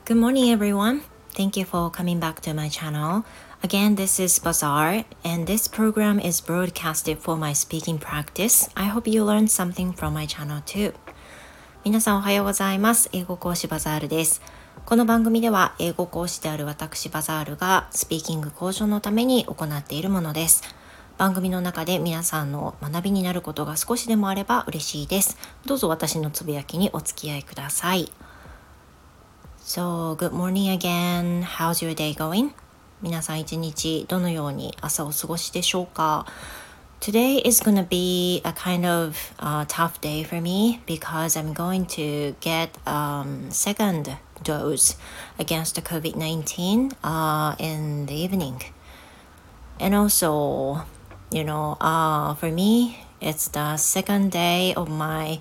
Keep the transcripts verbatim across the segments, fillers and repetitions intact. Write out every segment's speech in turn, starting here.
Good morning, everyone. Thank you for coming back to my channel. Again, this is Bazaar, and this program is broadcasted for my speaking practice. I hope you learned something from my channel too. 皆さんおはようございます。英語講師バザールです。この番組では英語講師である私バザールがスピーキング向上のために行っているものです。番組の中で皆さんの学びになることが少しでもあれば嬉しいです。どうぞ私のつぶやきにお付き合いください。So, good morning again. How's your day going? 皆さん一日どのように朝を過ごしでしょうか？ Today is going to be a kind of、uh, tough day for me because I'm going to get um, second dose against the covid nineteen、uh, in the evening. And also, you know, uh, for me, it's the second day of my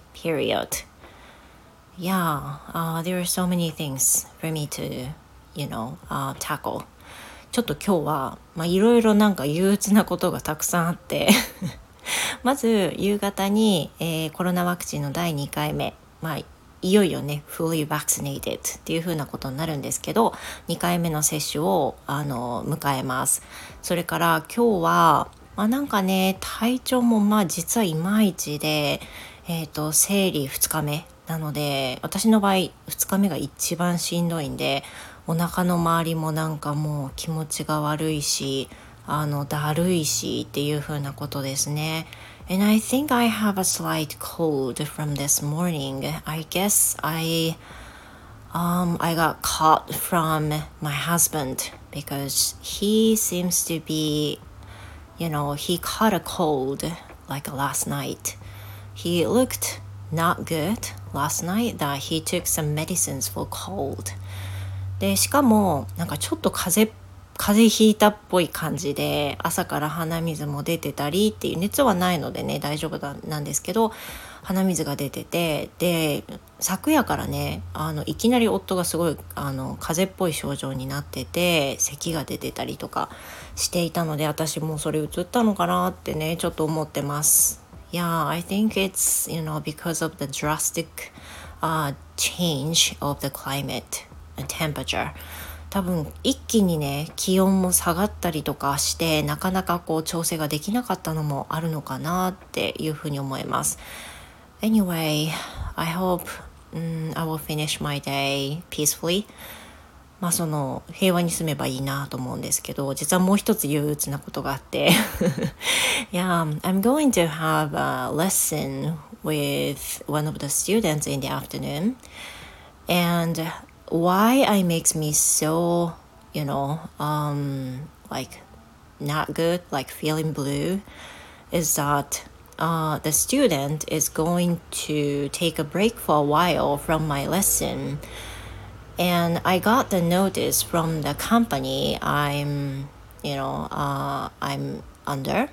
period.Yeah, uh, there are so many things for me to, you know, uh, tackle. ちょっと今日は、まあ、いろいろなんか憂鬱なことがたくさんあってまず夕方に、えー、コロナワクチンのだいにかいめ、まあ、いよいよね fully vaccinated っていう風なことになるんですけど、にかいめの接種をあの迎えます。それから今日は、まあ、なんかね体調もまあ実はいまいちで、えーと、生理ふつかめなので、私の場合ふつかめが一番しんどいんで、お腹の周りもなんかもう気持ちが悪いし、あのだるいしっていう風なことですね。And I think I have a slight cold from this morning. I guess I um I got caught from my husband because he seems to be, you know, he caught a cold like last night. He looked not good last night that he took some medicines for cold. で、しかもなんかちょっと風邪風邪ひいたっぽい感じで、朝から鼻水も出てたりっていう、熱はないのでね大丈夫だなんですけど、鼻水が出てて、で昨夜からねあのいきなり夫がすごいあの風邪っぽい症状になってて、咳が出てたりとかしていたので、私もそれ移ったのかなってねちょっと思ってます。Yeah, I think it's, you know, because of the drastic、uh, change of the climate and temperature. 多分一気にね気温も下がったりとかして、なかなかこう調整ができなかったのもあるのかなっていうふうに思います。Anyway, I hope、um, I will finish my day peacefully.まあその平和に住めばいいなと思うんですけど、実はもう一つ憂鬱なことがあってYeah, I'm going to have a lesson with one of the students in the afternoon, and why it makes me so, you know, um, like not good, like feeling blue, is that uh, the student is going to take a break for a while from my lesson.And I got the notice from the company I'm, you know, uh, I'm under.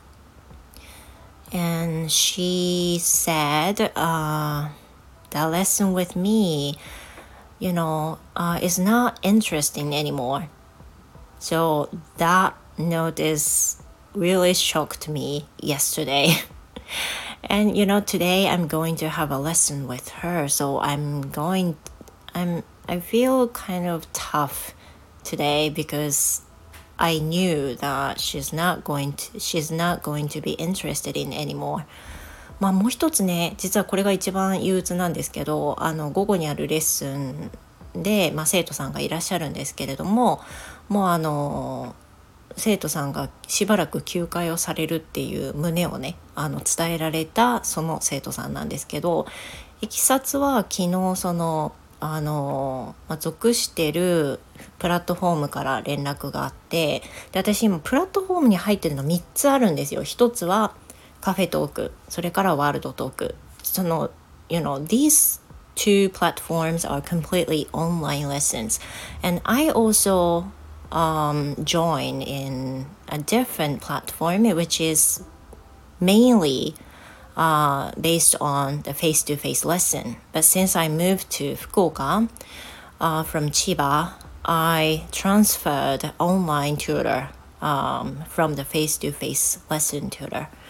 And she said, uh, the lesson with me, you know, uh, is not interesting anymore. So that notice really shocked me yesterday. And, you know, today I'm going to have a lesson with her. So I'm going, I'm,I feel kind of tough today because I knew that she's not going to, she's not going to be interested in anymore. まあもう一つね、実はこれが一番憂鬱なんですけど、あの午後にあるレッスンで、まあ、生徒さんがいらっしゃるんですけれども、もうあの生徒さんがしばらく休会をされるっていう旨をね、あの伝えられたその生徒さんなんですけど、いきさつは昨日そのあの、まあ、属してるプラットフォームから連絡があって、で私今プラットフォームに入ってるのみっつあるんですよ。一つはカフェトーク、それからワールドトーク。その you know these two platforms are completely online lessons, and I also um, join in a different platform which is mainly Uh, based on the face-to-face lesson. But since I moved to Fukuoka uh, from Chiba, I transferred online tutor、um, from the face-to-face lesson tutor.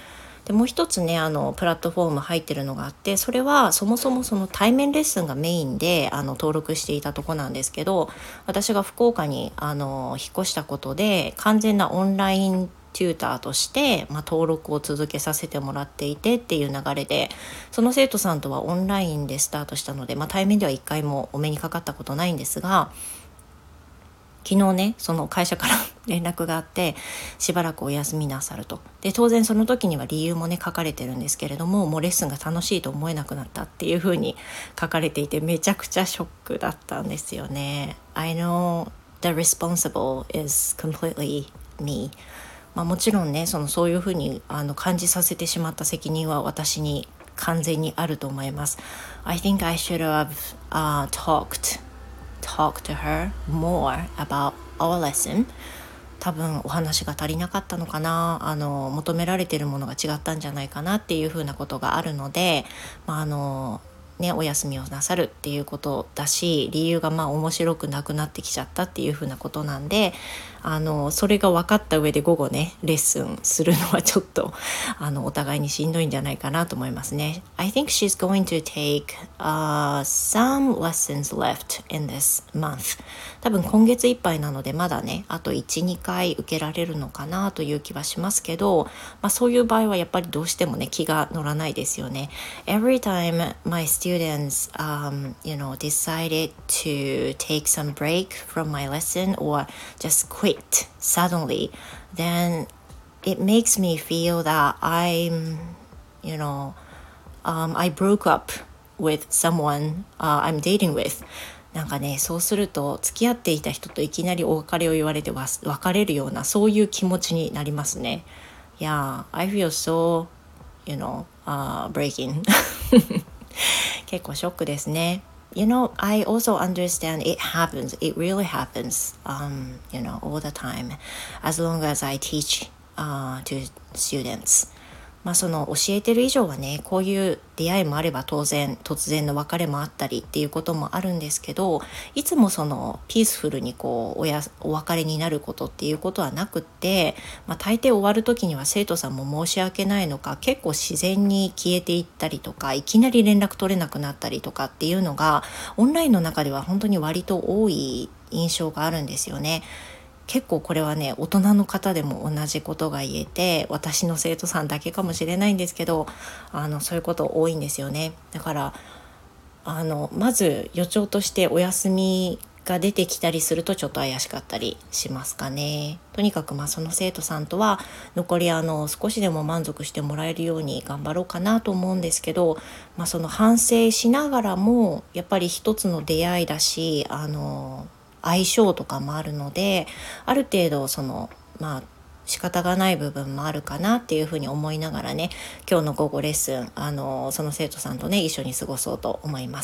でもう一つねあのプラットフォーム入ってるのがあって、それはそもそもその対面レッスンがメインであの登録していたとこなんですけど、私が福岡にあの引っ越したことで完全なオンラインテューターとして、まあ、登録を続けさせてもらっていてっていう流れで、その生徒さんとはオンラインでスタートしたので、まあ、対面では一回もお目にかかったことないんですが、昨日ねその会社から連絡があって、しばらくお休みなさると。で当然その時には理由もね書かれてるんですけれども、もうレッスンが楽しいと思えなくなったっていう風に書かれていて、めちゃくちゃショックだったんですよね。 I know the responsible is completely me。まあ、もちろんねそのそういうふうにあの感じさせてしまった責任は私に完全にあると思います。 I think I should have、uh, talked talk to her more about our lesson。 多分お話が足りなかったのかな、あの求められているものが違ったんじゃないかなっていうふうなことがあるので、まああのね、お休みをなさるっていうことだし、理由がまあ面白くなくなってきちゃったっていうふうなことなんで、あのそれが分かった上で午後ねレッスンするのはちょっとあのお互いにしんどいんじゃないかなと思いますね。 I think she's going to take、uh, some lessons left in this month。 多分今月いっぱいなのでまだねあと いち,に 回受けられるのかなという気はしますけど、まあ、そういう場合はやっぱりどうしてもね気が乗らないですよね。 Every time my students、um, you know, decided to take some break from my lesson or just quit suddenly, then it makes me feel that I'm, you know, um, I broke up with someone、uh, I'm dating with。 なんかねそうすると付き合っていた人といきなりお別れを言われて別れるようなそういう気持ちになりますね。 Yeah, I feel so, you know、uh, breaking 結構ショックですね。You know, I also understand it happens. It really happens, um, you know, all the time, as long as I teach、uh, to students. まあその教えてる以上はね、こういう出会いもあれば当然突然の別れもあったりっていうこともあるんですけど、いつもそのピースフルにこうおやお別れになることっていうことはなくって、まあ、大抵終わる時には生徒さんも申し訳ないのか結構自然に消えていったりとか、いきなり連絡取れなくなったりとかっていうのがオンラインの中では本当に割と多い印象があるんですよね。結構これはね大人の方でも同じことが言えて、私の生徒さんだけかもしれないんですけど、あのそういうこと多いんですよね。だからあのまず予兆としてお休みが出てきたりするとちょっと怪しかったりしますかね。とにかくまあその生徒さんとは残りあの少しでも満足してもらえるように頑張ろうかなと思うんですけど、まあ、その反省しながらもやっぱり一つの出会いだし、あの相性とかもあるので、ある程度そのまあ仕方がない部分もあるかなっていうふうに思いながらね、今日の午後レッスンあのその生徒さんとね一緒に過ごそうと思います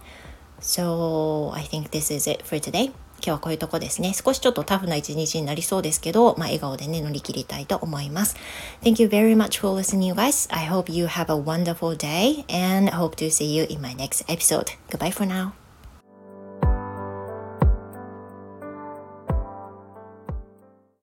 。So I think this is it for today。 今日はこういうとこですね。少しちょっとタフな一日になりそうですけど、まあ、笑顔でね乗り切りたいと思います。 Thank you very much for listening, you guys. I hope you have a wonderful day and hope to see you in my next episode. Goodbye for now.